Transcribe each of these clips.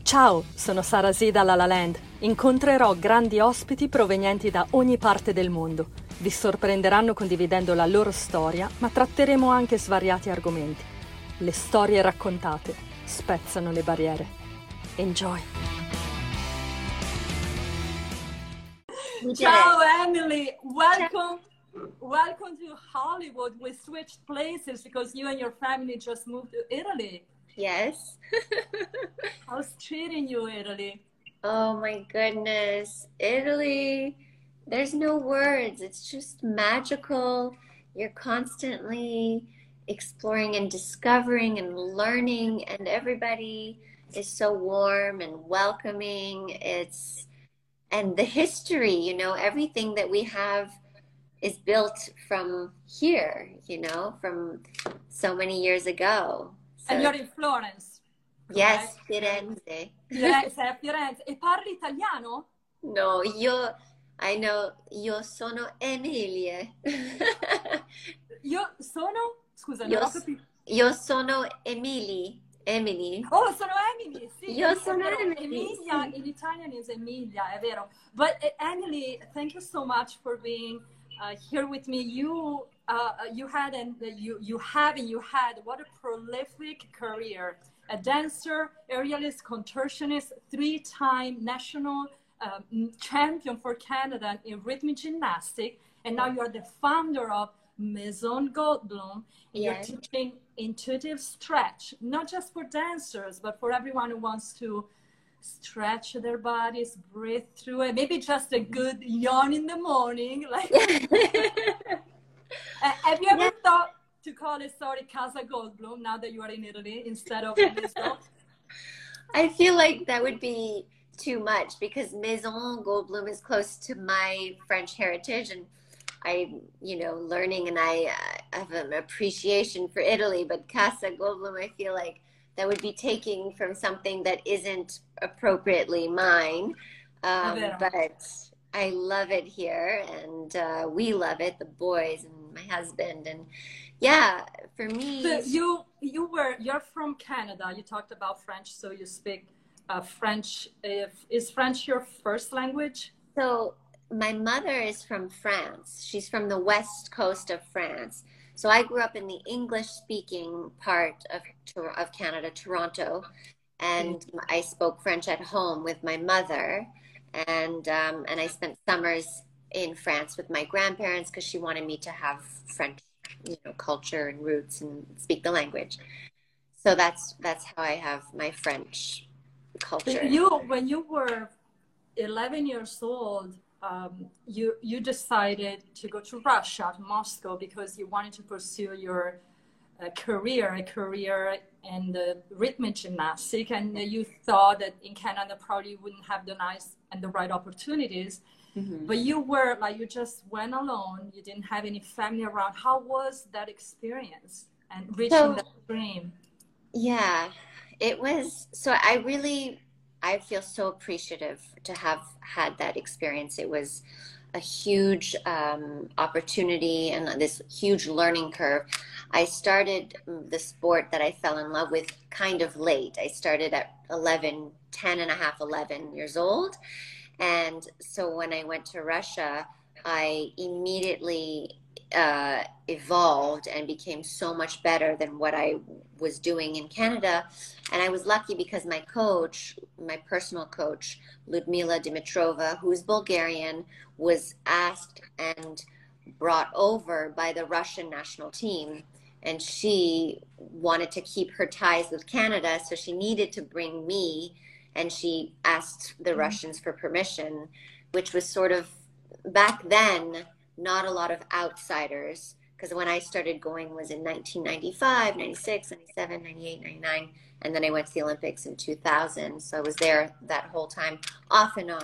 Ciao, sono Sara Z da La La Land. Incontrerò grandi ospiti provenienti da ogni parte del mondo. Vi sorprenderanno condividendo la loro storia, ma tratteremo anche svariati argomenti. Le storie raccontate spezzano le barriere. Enjoy! Ciao Emily, welcome to Hollywood. We switched places because you and your family just moved to Italy. Yes. How's treating you, Italy? Oh my goodness. Italy, there's no words. It's just magical. You're constantly exploring and discovering and learning, and everybody is so warm and welcoming. And the history, everything that we have is built from here, from so many years ago. And you're in Florence. Yes, Firenze. Firenze. E parli italiano? No, io sono Emilia. Io sono? Scusa, Io, non ho capito. io sono Emily. Oh, sono Emily, sì. Io sono Emily. Emilia, in Italian is Emilia, è vero. But Emily, thank you so much for being here with me. You had what a prolific career. A dancer, aerialist, contortionist, 3-time national champion for Canada in rhythmic gymnastics, and now you're the founder of Maison Goldblum. Yes. You're teaching intuitive stretch, not just for dancers, but for everyone who wants to stretch their bodies, breathe through it. Maybe just a good yawn in the morning. Like, have you ever thought to call it, Casa Goldblum, now that you are in Italy, instead of Maison? I feel like that would be too much because Maison Goldblum is close to my French heritage, and I'm, learning, and I have an appreciation for Italy, but Casa Goldblum, I feel like that would be taking from something that isn't appropriately mine. But I love it here, and we love it, the boys and my husband, and yeah, for me. So you're from Canada. You talked about French, so you speak French. Is French your first language? So my mother is from France. She's from the west coast of France. So I grew up in the English-speaking part of Canada, Toronto, and I spoke French at home with my mother, and I spent summers in France with my grandparents because she wanted me to have French, culture and roots and speak the language. So that's how I have my French culture. When you were 11 years old, you decided to go to Russia, to Moscow, because you wanted to pursue your a career in the rhythmic gymnastics, and you thought that in Canada probably wouldn't have the nice and the right opportunities. Mm-hmm. But you just went alone. You didn't have any family around. How was that experience and reaching that dream? Yeah, it was. So I feel so appreciative to have had that experience. It was a huge opportunity and this huge learning curve. I started the sport that I fell in love with kind of late. I started at 11 years old. And so when I went to Russia, I immediately evolved and became so much better than what I was doing in Canada. And I was lucky because my coach, my personal coach, Ludmila Dimitrova, who is Bulgarian, was asked and brought over by the Russian national team. And she wanted to keep her ties with Canada, so she needed to bring me, and she asked the Russians for permission, which was sort of, back then, not a lot of outsiders, because when I started going was in 1995, 96, 97, 98, 99, and then I went to the Olympics in 2000, so I was there that whole time, off and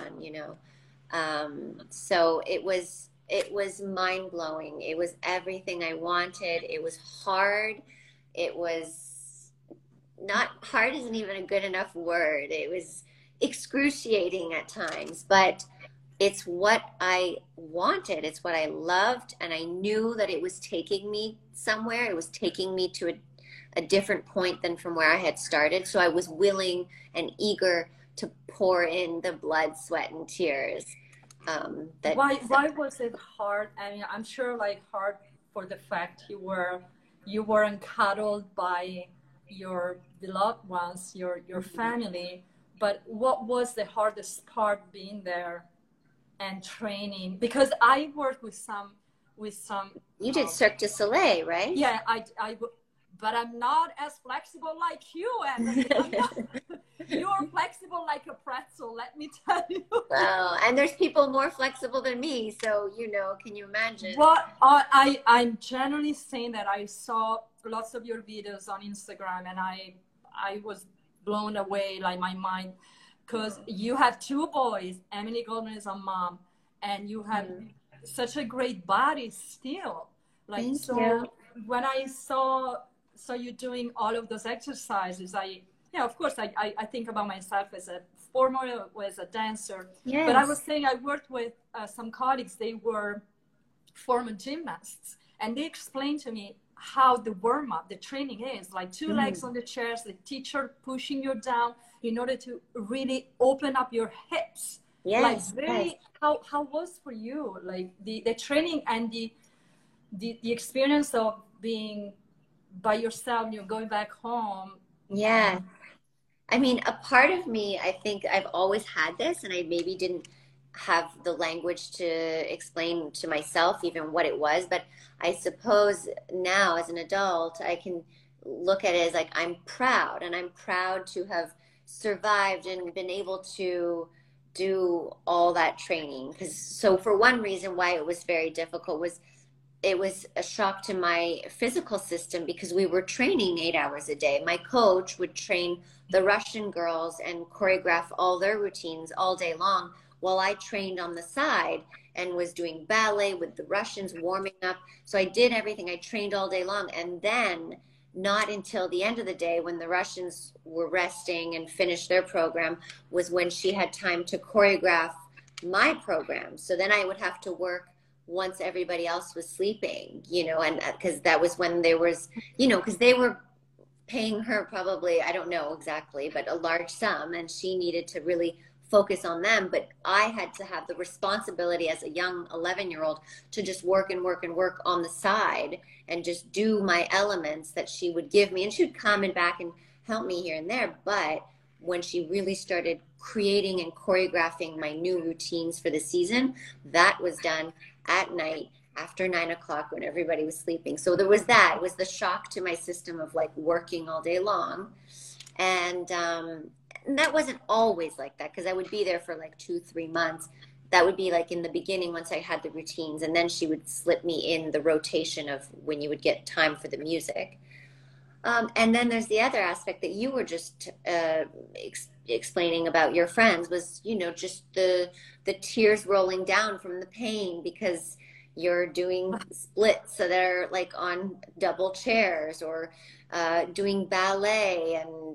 on, so it was mind-blowing. It was everything I wanted. It was hard. It was not hard, isn't even a good enough word. It was excruciating at times, but it's what I wanted. It's what I loved. And I knew that it was taking me somewhere. It was taking me to a different point than from where I had started. So I was willing and eager to pour in the blood, sweat, and tears. Why was it hard? I mean, I'm sure like hard for the fact you weren't cuddled by your beloved ones, your family. But what was the hardest part being there and training? Because I worked with some. You did Cirque du Soleil, right? Yeah, but I'm not as flexible like you, Emily. You're flexible like a pretzel, let me tell you. Well, and there's people more flexible than me, so can you imagine? Well, I'm generally saying that I saw lots of your videos on Instagram, and I was blown away, like my mind, because you have two boys. Emily Goldman is a mom, and you have such a great body still. Like Thank so, you. when I saw you doing all of those exercises, of course, I think about myself as a performer, as a dancer. Yes. But I was saying I worked with some colleagues. They were former gymnasts, and they explained to me how the warm-up, the training is like two legs on the chairs, the teacher pushing you down in order to really open up your hips. Yes. Like how was for you, like the training and the experience of being by yourself, going back home? Yeah. I mean, a part of me, I think I've always had this, and I maybe didn't have the language to explain to myself even what it was. But I suppose now as an adult, I can look at it as like, I'm proud, and I'm proud to have survived and been able to do all that training. So for one reason why it was very difficult was it was a shock to my physical system, because we were training 8 hours a day. My coach would train the Russian girls and choreograph all their routines all day long, while I trained on the side and was doing ballet with the Russians, warming up. So I did everything. I trained all day long. And then not until the end of the day, when the Russians were resting and finished their program, was when she had time to choreograph my program. So then I would have to work once everybody else was sleeping, and because that was when there was, because they were paying her probably, I don't know exactly, but a large sum, and she needed to really focus on them. But I had to have the responsibility as a young 11-year-old to just work and work and work on the side and just do my elements that she would give me. And she would come and back and help me here and there. But when she really started creating and choreographing my new routines for the season, that was done at night after 9 o'clock when everybody was sleeping. So there was that. It was the shock to my system of like working all day long. And that wasn't always like that, because I would be there for like 2-3 months. That would be like in the beginning once I had the routines, and then she would slip me in the rotation of when you would get time for the music. And then there's the other aspect that you were just explaining about your friends was, just the tears rolling down from the pain, because you're doing splits so they're like on double chairs, or doing ballet, and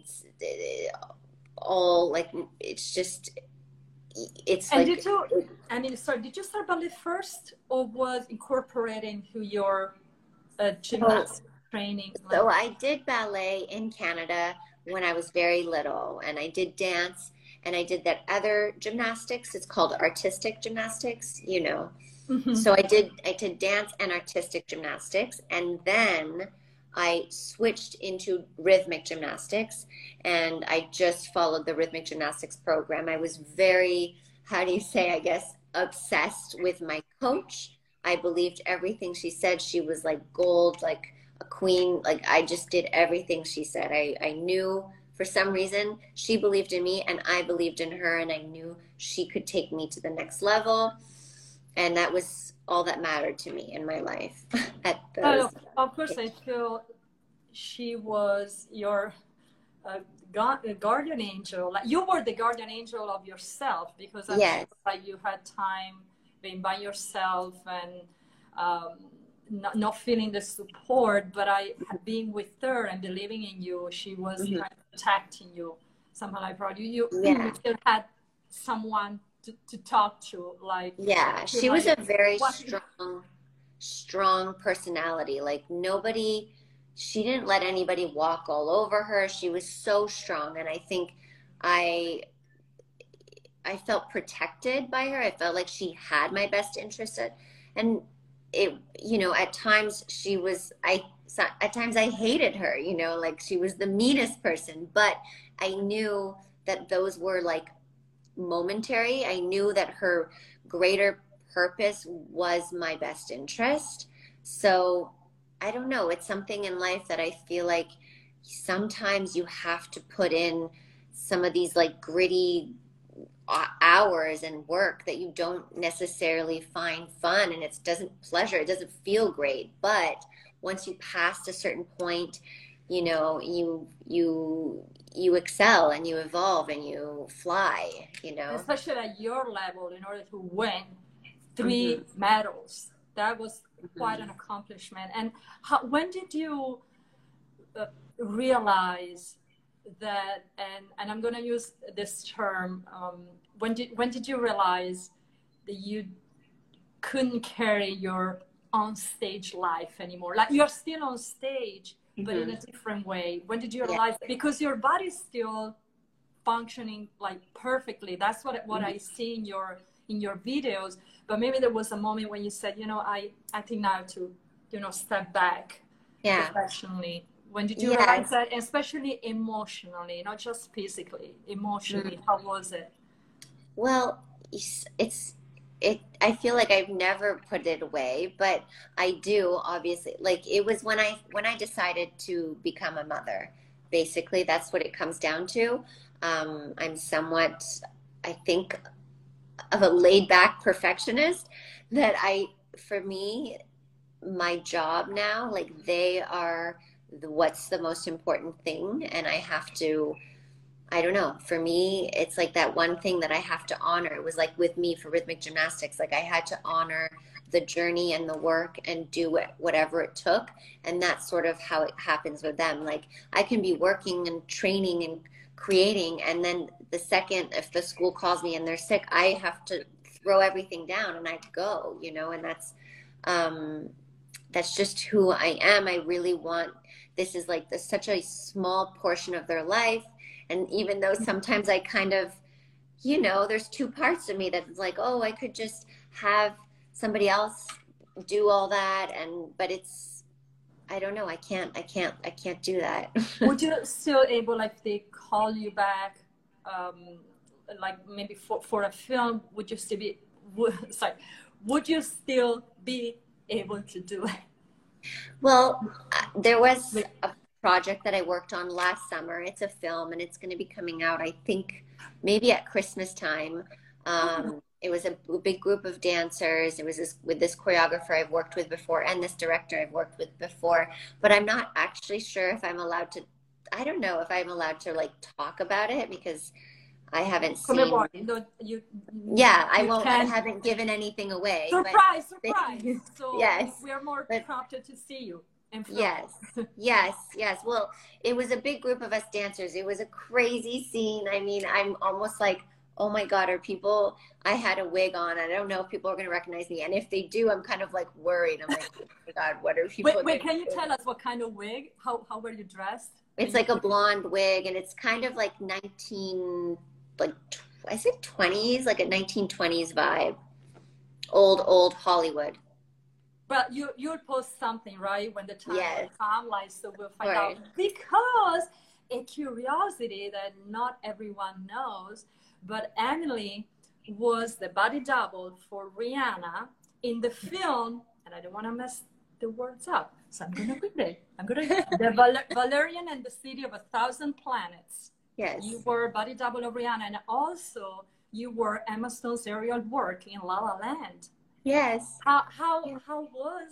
all like, it's And like. did you start ballet first, or was incorporated into your gymnastics training? So I did ballet in Canada when I was very little, and I did dance, and I did that other gymnastics. It's called artistic gymnastics, So I did dance and artistic gymnastics, and then I switched into rhythmic gymnastics, and I just followed the rhythmic gymnastics program. I was very, obsessed with my coach. I believed everything she said. She was like gold, like a queen. Like, I just did everything she said. I knew for some reason she believed in me, and I believed in her, and I knew she could take me to the next level. And that was all that mattered to me in my life. Of course, I feel she was your guardian angel. Like, you were the guardian angel of yourself, because I'm sure like you had time being by yourself and not feeling the support. But being with her and believing in you, she was kind of protecting you somehow. I brought you still had someone to talk to, like. She was a very strong personality. Like, nobody she didn't let anybody walk all over her. She was so strong. And I think I I felt protected by her. I felt like she had my best interest and it, you know, at times she was, at times I hated her, you know, like she was the meanest person, but I knew that those were like momentary. I knew that her greater purpose was my best interest. So I don't know. It's something in life that I feel like sometimes you have to put in some of these like gritty hours and work that you don't necessarily find fun, and it doesn't feel great, but once you pass a certain point, you know, you excel and you evolve and you fly, you know. Especially at your level, in order to win three Mm-hmm. medals, that was quite Mm-hmm. an accomplishment. And when did you realize that, and I'm going to use this term, when did you realize that you couldn't carry your on stage life anymore? Like, you're still on stage, but in Mm-hmm. a different way. When did you Yeah. realize, because your body's still functioning like perfectly, that's what Mm-hmm. I see in your videos, but maybe there was a moment when you said, you know, I think now to, you know, step back Yeah. professionally. When did you realize Yes. that, especially emotionally, not just physically, emotionally? How was it? Well, I feel like I've never put it away, but I do obviously. Like it was when I decided to become a mother. Basically, that's what it comes down to. I'm somewhat, I think, of a laid back perfectionist that for me, my job now, like they are what's the most important thing, and I have to, I don't know. For me, it's like that one thing that I have to honor. It was like with me for rhythmic gymnastics, like I had to honor the journey and the work and do whatever it took. And that's sort of how it happens with them. Like I can be working and training and creating, and then the second, if the school calls me and they're sick, I have to throw everything down and I go, you know, and um, that's just who I am. I really want, this is like such a small portion of their life. And even though sometimes I kind of, you know, there's two parts of me that's like, oh, I could just have somebody else do all that. But it's, I don't know. I can't do that. Would you still able, like, if they call you back, um, like maybe for a film, would you still be, sorry, would you still be able to do it? Well, there was Like, a project that I worked on last summer. It's a film and it's going to be coming out, I think, maybe at Christmas time. It was a big group of dancers. It was with this choreographer I've worked with before and this director I've worked with before. But I'm not actually sure if I'm allowed to, I don't know if I'm allowed to like talk about it because I haven't come seen. aboard. No, Yeah, I you won't, I can. haven't given anything away, but Surprise, surprise. So yes. we are more But prompted to see you and film. yes, yes, yes. Well, it was a big group of us dancers. It was a crazy scene. I mean, I'm almost like, oh my God, are people, I had a wig on. I don't know if people are going to recognize me. And if they do, I'm kind of like worried. I'm like, oh my God, what are people Wait, going to can you do? tell us what kind of wig? How were you dressed? It's like a blonde wig and it's kind of like 19, like, I said 20s, like a 1920s vibe. Old Hollywood. But you'll post something, right, when the time will Yes, come, like, so we'll of find out. course. Because a curiosity that not everyone knows, but Emily was the body double for Rihanna in the film, and I don't want to mess the words up, so I'm gonna read it. Valerian and the City of a Thousand Planets. You Yes. were body double of Rihanna, and also you were Emma Stone's aerial work in La La Land. Yes. How was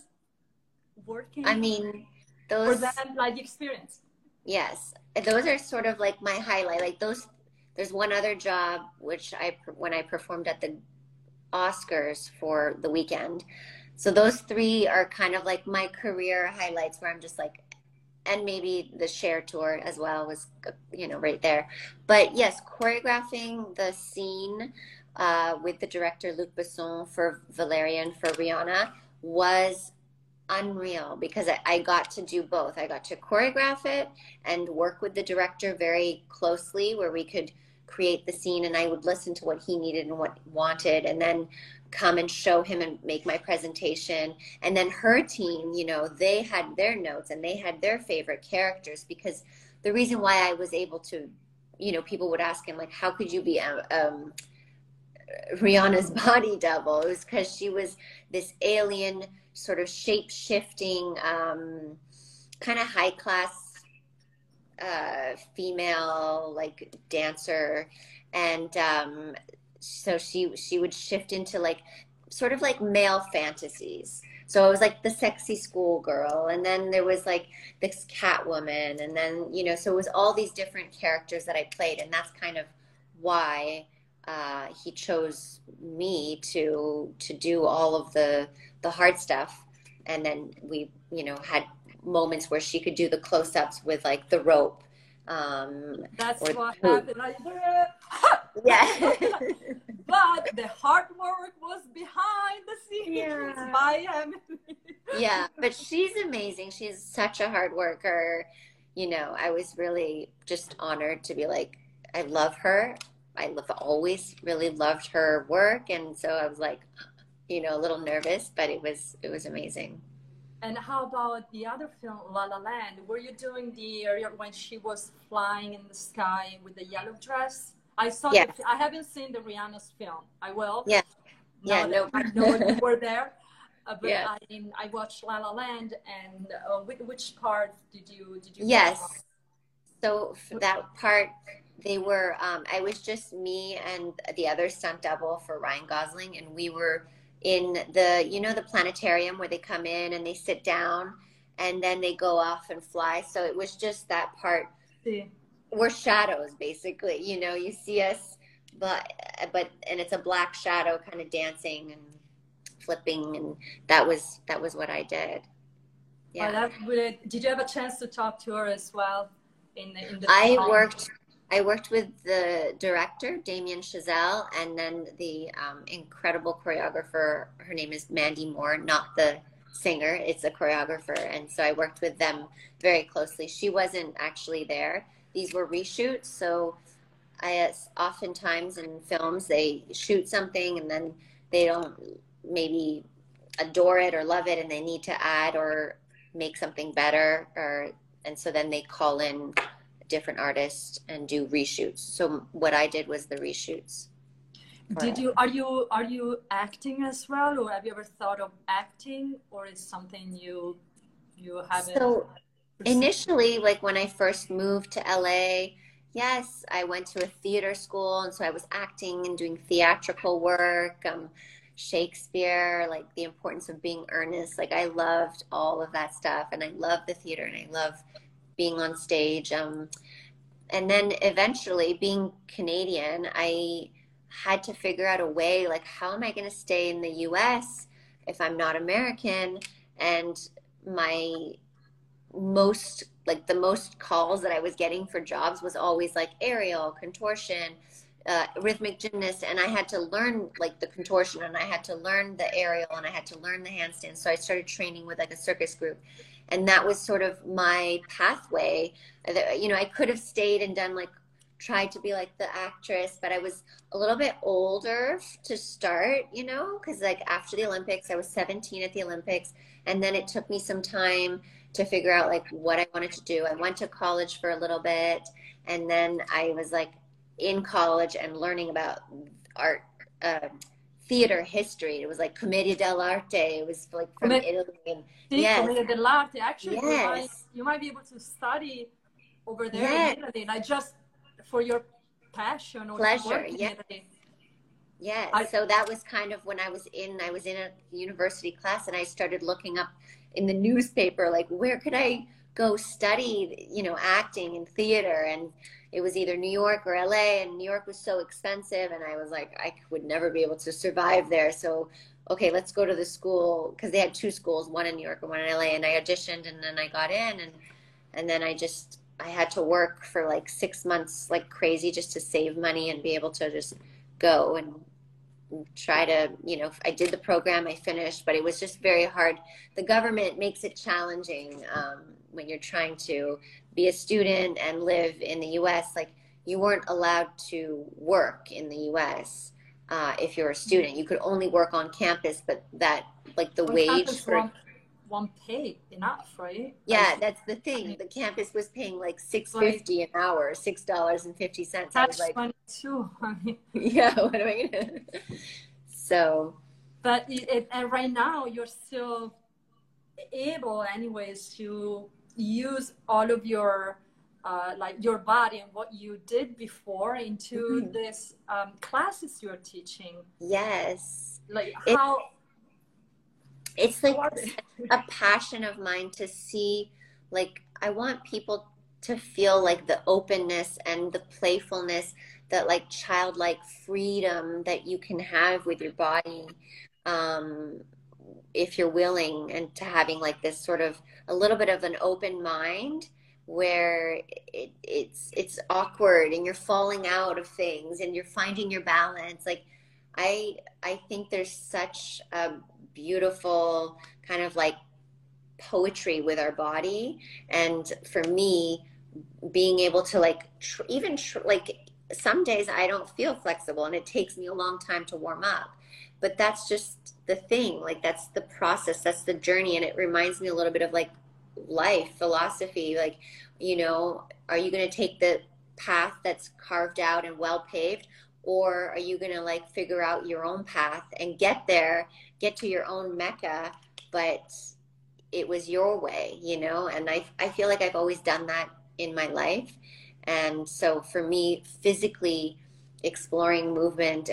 I working mean, for those. them, like, the experience? Yes, those are sort of like my highlight. Like those, there's one other job which when I performed at the Oscars for the weekend. So those three are kind of like my career highlights where I'm just like, and maybe the Cher tour as well was, you know, right there. But yes, choreographing the scene with the director Luc Besson for Valerian for Rihanna was unreal because I got to do both. I got to choreograph it and work with the director very closely where we could create the scene and I would listen to what he needed and what he wanted and then come and show him and make my presentation. And then her team, you know, they had their notes and they had their favorite characters because the reason why I was able to, you know, people would ask him like, how could you be Rihanna's body double? It was because she was this alien sort of shape-shifting kind of high class female like dancer and so she would shift into like sort of like male fantasies. So it was like the sexy schoolgirl, and then there was like this Catwoman, and then you know, so it was all these different characters that I played, and that's kind of why he chose me to do all of the hard stuff, and then we you know had moments where she could do the close-ups with like the rope. That's what happened. Yeah. But the hard work was behind the scenes by Emily. Yeah, but she's amazing. She's such a hard worker. You know, I was really just honored to be like, I love her. I've always really loved her work, and so I was like, you know, a little nervous, but it was amazing. And how about the other film, La La Land? Were you doing the area when she was flying in the sky with the yellow dress? I saw. Yeah. I haven't seen the Rihanna's film. I will. Yeah. Now Yeah. No. I know you were there. But Yeah. I watched La La Land, and which part did you? Yes. So for that part, they were. I was just me and the other stunt double for Ryan Gosling, and we were in the you know the planetarium where they come in and they sit down, and then they go off and fly. So it was just that part. See. We're shadows, basically. You know, you see us, but and it's a black shadow kind of dancing and flipping, and that was what I did. Yeah. That's really, did you have a chance to talk to her as well? In the I worked with the director Damien Chazelle, and then the incredible choreographer. Her name is Mandy Moore, not the singer. It's a choreographer, and so I worked with them very closely. She wasn't actually there. These were reshoots, so oftentimes in films they shoot something and then they don't maybe adore it or love it, and they need to add or make something better, and so then they call in a different artist and do reshoots. So what I did was the reshoots. Are you acting as well, or have you ever thought of acting, or is something you haven't? So initially, like when I first moved to LA, yes, I went to a theater school, and so I was acting and doing theatrical work, Shakespeare, like the importance of being earnest. Like I loved all of that stuff, and I love the theater, and I love being on stage. And then eventually, being Canadian, I had to figure out a way, like how am I going to stay in the US if I'm not American? And the most calls that I was getting for jobs was always like aerial, contortion, rhythmic gymnast, and I had to learn like the contortion, and I had to learn the aerial, and I had to learn the handstand. So I started training with like a circus group, and that was sort of my pathway. You know, I could have stayed and done like tried to be like the actress, but I was a little bit older to start, you know, because like after the Olympics, I was 17 at the Olympics, and then it took me some time to figure out like what I wanted to do. I went to college for a little bit, and then I was like in college and learning about art, theater history. It was like Commedia dell'arte. It was like from Italy. And, yes. Commedia dell'arte. Actually, yes. you might be able to study over there in Italy, like just for your passion or pleasure. Yeah. Yes. So that was kind of when I was in a university class, and I started looking up in the newspaper, like where could I go study, you know, acting and theater, and it was either New York or LA, and New York was so expensive, and I was like, I would never be able to survive there. So, okay, let's go to the school, because they had two schools, one in New York and one in LA, and I auditioned, and then I got in, and then I had to work for like 6 months like crazy just to save money and be able to just go, and try to, you know, I did the program, I finished, but it was just very hard. The government makes it challenging when you're trying to be a student and live in the US. Like, you weren't allowed to work in the US if you're a student. You could only work on campus, but that, like, the On wage campus, for, one pay enough, right? yeah, Like, that's the I thing. mean, The campus was paying like like $6.50 an hour, $6.50. I was catch like, 22. I mean, yeah, what am I gonna? So but and right now you're still able, anyways, to use all of your like your body and what you did before into mhm. this classes you're teaching. Yes, Like it, it's how like are they? a passion of mine to see, like, I want people to feel like the openness and the playfulness, that like childlike freedom that you can have with your body, um, if you're willing, and to having like this sort of a little bit of an open mind where it's awkward and you're falling out of things and you're finding your balance. Like, I think there's such a beautiful kind of like poetry with our body. And for me, being able to like like, some days I don't feel flexible and it takes me a long time to warm up, but that's just the thing. Like, that's the process, that's the journey. And it reminds me a little bit of like life philosophy. Like, you know, are you going to take the path that's carved out and well paved, or are you going to like figure out your own path and get there, get to your own Mecca, but it was your way, you know? And I feel like I've always done that in my life. And so for me, physically exploring movement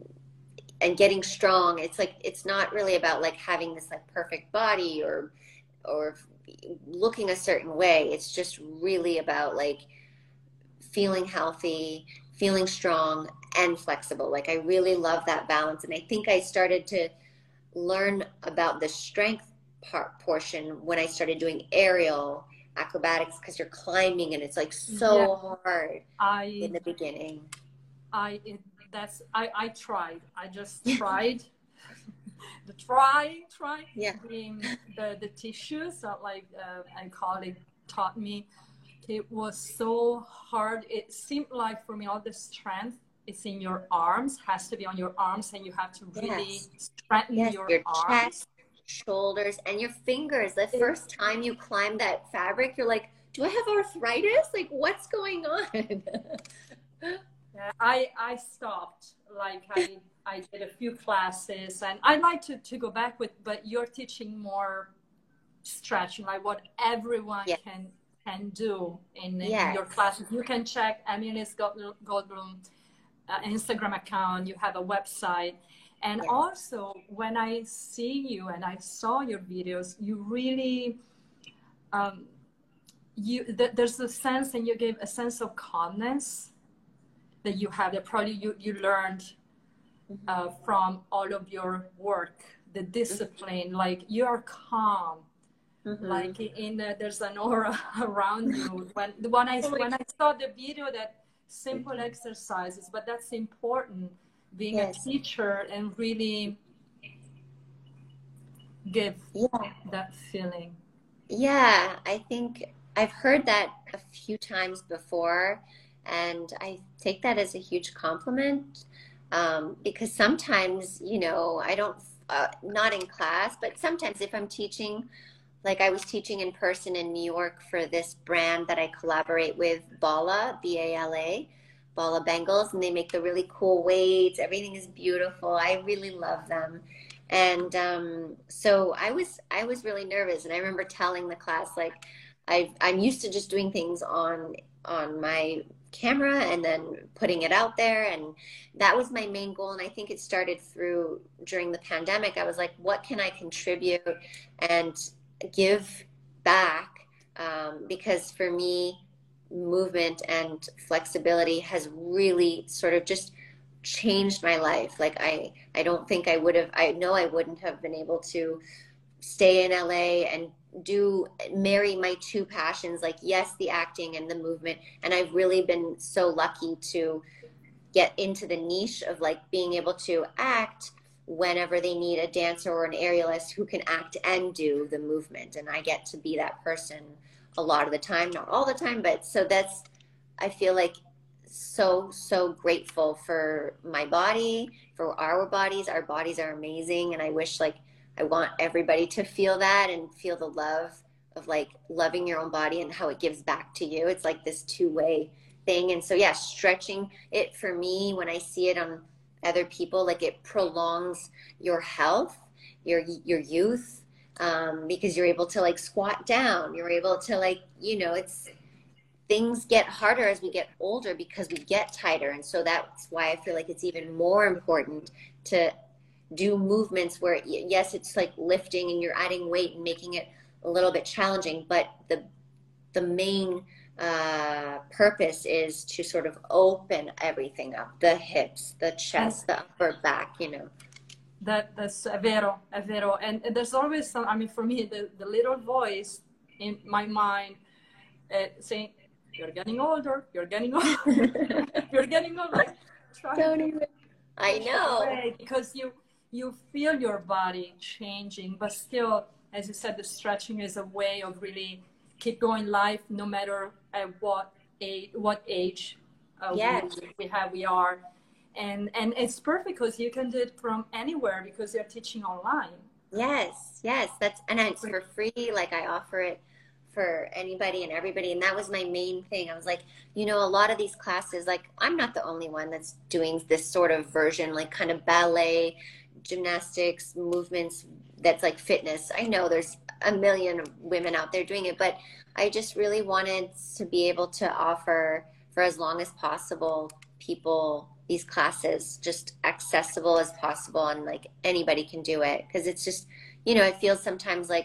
and getting strong, it's like, it's not really about like having this like perfect body or looking a certain way. It's just really about like feeling healthy, feeling strong and flexible. Like, I really love that balance. And I think I started to learn about the strength portion when I started doing aerial acrobatics, because you're climbing and it's like Yeah, so hard in I the beginning. I it, that's I tried. I just tried the try Yeah. being the tissues that like a colleague taught me. It was so hard. It seemed like for me all the strength is in your arms, has to be on your arms, and you have to really Yes. strengthen Yes. your Your arms. chest, shoulders, and your fingers. The It, first time you climb that fabric, you're like, do I have arthritis? Like, what's going on? I stopped. Like I did a few classes, and I like to go back with. But you're teaching more stretching, like what everyone Yeah. can do in your Yes. classes. You can check Emily's Goldblum Instagram account. You have a website, and Yes. also when I see you and I saw your videos, you really um, there's a sense, and you gave a sense of calmness that you have, that probably you learned Mm-hmm. from all of your work, the discipline. Like, you are calm, Mm-hmm. like there's an aura around you. When I saw the video, that simple exercises, but that's important, being a Yes. teacher and really give Yeah. that feeling. Yeah, I think I've heard that a few times before, and I take that as a huge compliment, because sometimes, you know, I don't, not in class, but sometimes if I'm teaching, like I was teaching in person in New York for this brand that I collaborate with, Bala, Bala, Bala Bengals, and they make the really cool weights. Everything is beautiful. I really love them. And so I was really nervous, and I remember telling the class like I'm used to just doing things on my camera and then putting it out there, and that was my main goal. And I think it started through during the pandemic. I was like, what can I contribute and give back? Because for me, movement and flexibility has really sort of just changed my life. Like, I don't think I would have, I know I wouldn't have been able to stay in LA and do marry my two passions, like, yes, the acting and the movement. And I've really been so lucky to get into the niche of like being able to act whenever they need a dancer or an aerialist who can act and do the movement. And I get to be that person a lot of the time, not all the time, but so that's, I feel like so grateful for my body, for our bodies. Our bodies are amazing. And I wish like, I want everybody to feel that and feel the love of like loving your own body and how it gives back to you. It's like this two-way thing. And so, yeah, stretching it for me, when I see it on other people, like it prolongs your health, your youth, because you're able to like squat down. You're able to like, you know, it's, things get harder as we get older because we get tighter. And so that's why I feel like it's even more important to do movements where, yes, it's like lifting and you're adding weight and making it a little bit challenging, but the main purpose is to sort of open everything up, the hips, the chest, the upper back, you know. That's vero, è vero. And there's always some, I mean, for me, the little voice in my mind saying, you're getting older, you're getting older, you're getting older. Like, Don't even, I know. Because you feel your body changing, but still, as you said, the stretching is a way of really keep going life, no matter at what age Yes. we are. And it's perfect because you can do it from anywhere because you're teaching online. Yes, that's, and it's for free. Like I offer it for anybody and everybody. And that was my main thing. I was like, you know, a lot of these classes, like I'm not the only one that's doing this sort of version, like kind of ballet, gymnastics, movements that's like fitness. I know there's a million women out there doing it, but I just really wanted to be able to offer for as long as possible people these classes just accessible as possible, and like anybody can do it, because it's just, you know, it feels sometimes like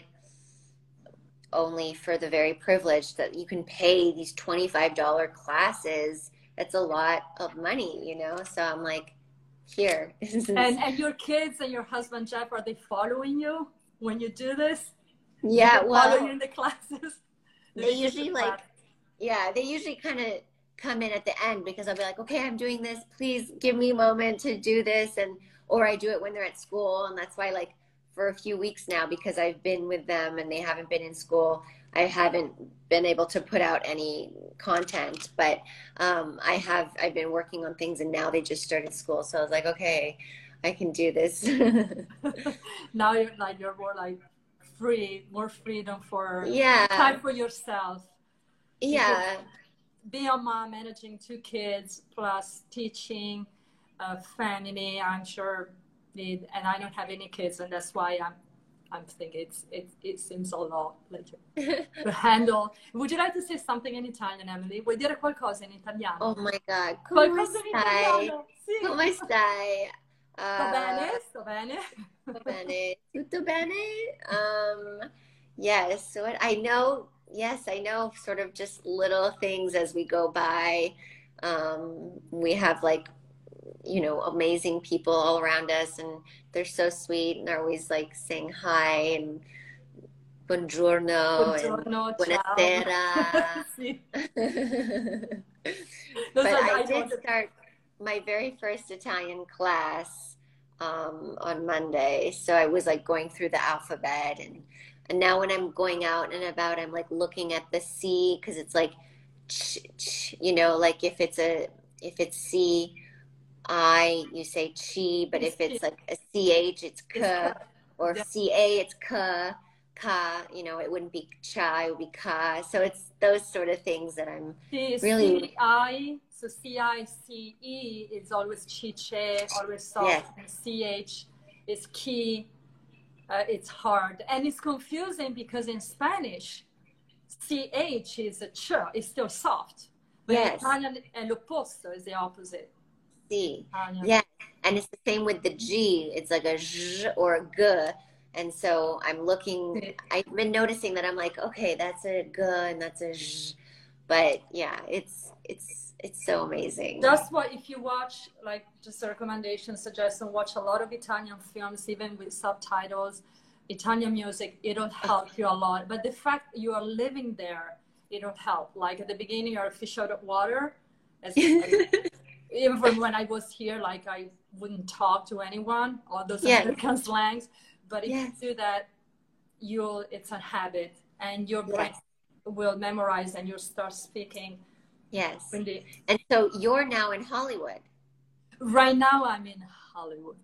only for the very privileged that you can pay these $25 classes. That's a lot of money, you know. So I'm like, here. And your kids and your husband Jeff, are they following you when you do this? Yeah, well, follow you in the classes. They usually like, yeah, they usually kind of come in at the end because I'll be like, okay, I'm doing this, please give me a moment to do this. And or I do it when they're at school, and that's why like for a few weeks now, because I've been with them and they haven't been in school, I haven't been able to put out any content, but I've been working on things, and now they just started school, so I was like, okay, I can do this. Now you're more like free, more freedom for time for yourself. Yeah. Being a mom, managing 2 kids, plus teaching, family, I'm sure, and I don't have any kids, and that's why I'm thinking it seems a lot like to handle. Would you like to say something in Italian, Emily? Vuoi dire qualcosa in italiano? Oh my God. Come stai? Sì. Come stai? Sto bene, sto bene. Sto bene. Tutto bene? Yes. So I know. Yes, I know sort of just little things as we go by. We have like, you know, amazing people all around us, and they're so sweet, and they're always like saying hi and buongiorno and buonasera. Sì. But I did start my very first Italian class on Monday. So I was like going through the alphabet, and now when I'm going out and about, I'm like looking at the C, because it's like, you know, like if it's C, I, you say chi, but if it's like a CH, it's k, or CA, it's ka, you know, it wouldn't be cha, it would be ka. So it's those sort of things that I'm really... CI, so CICE is always chiche, always soft, and CH is ki. It's hard, and it's confusing because in Spanish, CH is a ch, it's still soft. But in Italian, l'opposto is the opposite. C. Yeah, and it's the same with the G. It's like a zh or a g. And so I'm looking, I've been noticing that I'm like, okay, that's a g and that's a zh. But yeah, it's so amazing. That's why if you watch, like, just a recommendation, suggestion, watch a lot of Italian films, even with subtitles, Italian music, it'll help you a lot. But the fact you are living there, it'll help. Like at the beginning, you're a fish out of water. even from when I was here, like I wouldn't talk to anyone, all those Yes. American slangs. But if Yes. you do that, it's a habit, and your brain Yes. will memorize, and you'll start speaking. Yes. Really. And so you're now in Hollywood. Right now, I'm in Hollywood.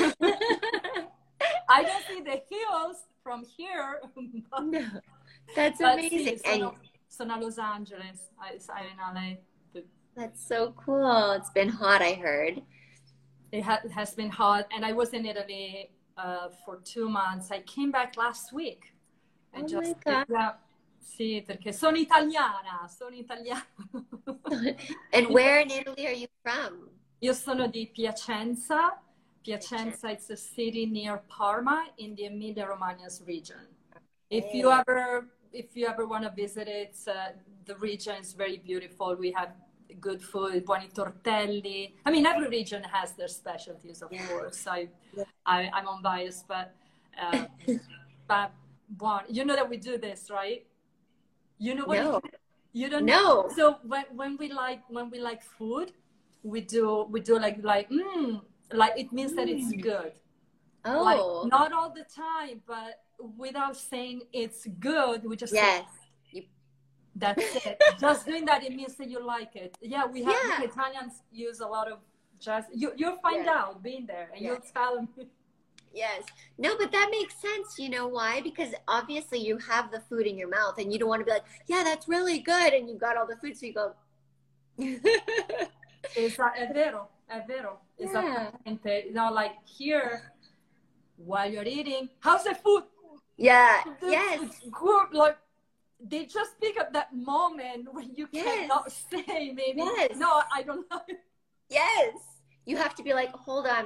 I don't see the hills from here. No, that's But amazing. sì, sono a Los Angeles. I'm in LA. That's so cool. It's been hot, I heard. It has been hot, and I was in Italy for 2 months. I came back last week. Oh my God. Yeah, sì, perché sono italiana. And where in Italy are you from? Io sono di Piacenza. Piacenza is a city near Parma in the Emilia-Romagna region. If you ever want to visit it, the region is very beautiful. We have good food, buoni tortelli. I mean, every region has their specialties, of course. I'm unbiased, but buon. You know that we do this, right? You know what? No. You don't No. know. So when we like food, we do like it means that it's good. Oh. Like, not all the time, but without saying it's good, we just say, that's it. Just doing that, it means that you like it. Yeah, we have Italians use a lot of jazz. You'll find out being there, and you'll tell them. Yes. No, but that makes sense. You know why? Because obviously you have the food in your mouth, and you don't want to be like, yeah, that's really good, and you've got all the food, so you go. È vero. Esattamente. You know, like here, while you're eating, how's the food? Yeah. It's good. Like, they just pick up that moment when you cannot say maybe, no, I don't know. Yes. You have to be like, hold on.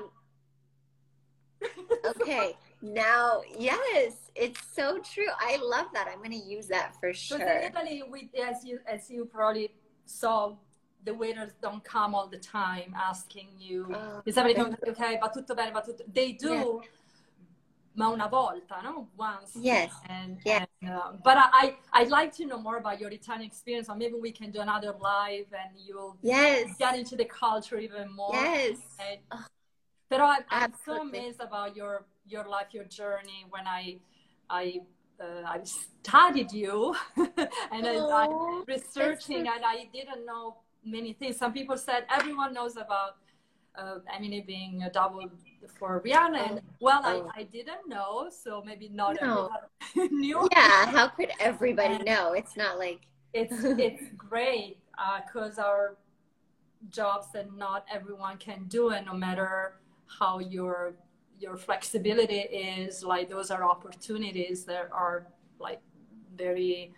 Okay. Now, yes, it's so true. I love that. I'm going to use that for sure. Because in Italy, as you probably saw, the waiters don't come all the time asking you, is everything okay? Va tutto bene, va tutto. They do, ma una volta, no? Once. Yes. But I'd like to know more about your Italian experience, or maybe we can do another live, and you'll get into the culture even more. Yes. But I'm so amazed about your life, your journey. When I studied you, and I researching, and I didn't know many things. Some people said everyone knows about Emily being a double for Rihanna, and I didn't know, so maybe not everyone knew. Yeah, how could everybody know? It's not like it's great because our jobs that not everyone can do, and no matter how your flexibility is, like those are opportunities that are like very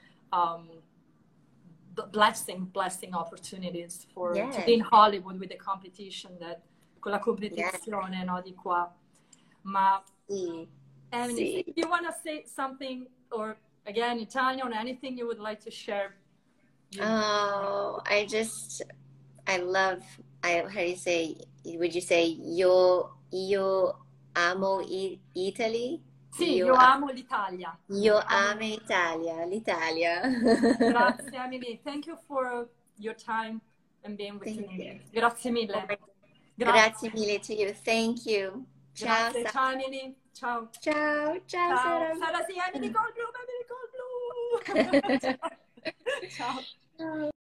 blessing opportunities for to be in Hollywood with the competition, that con la competizione, no, di qua. Ma Emily, if you want to say something, or again Italian, or anything you would like to share. How do you say, would you say io amo Italy? Sì, io amo l'Italia. Io amo l'Italia. Grazie, Emily. Thank you for your time and being with me. Grazie mille. Grazie mille to you. Thank you. Ciao. Grazie. Ciao, Emily. Ciao. Ciao. Ciao. Sara, sì, Emily col blu. Ciao. Ciao.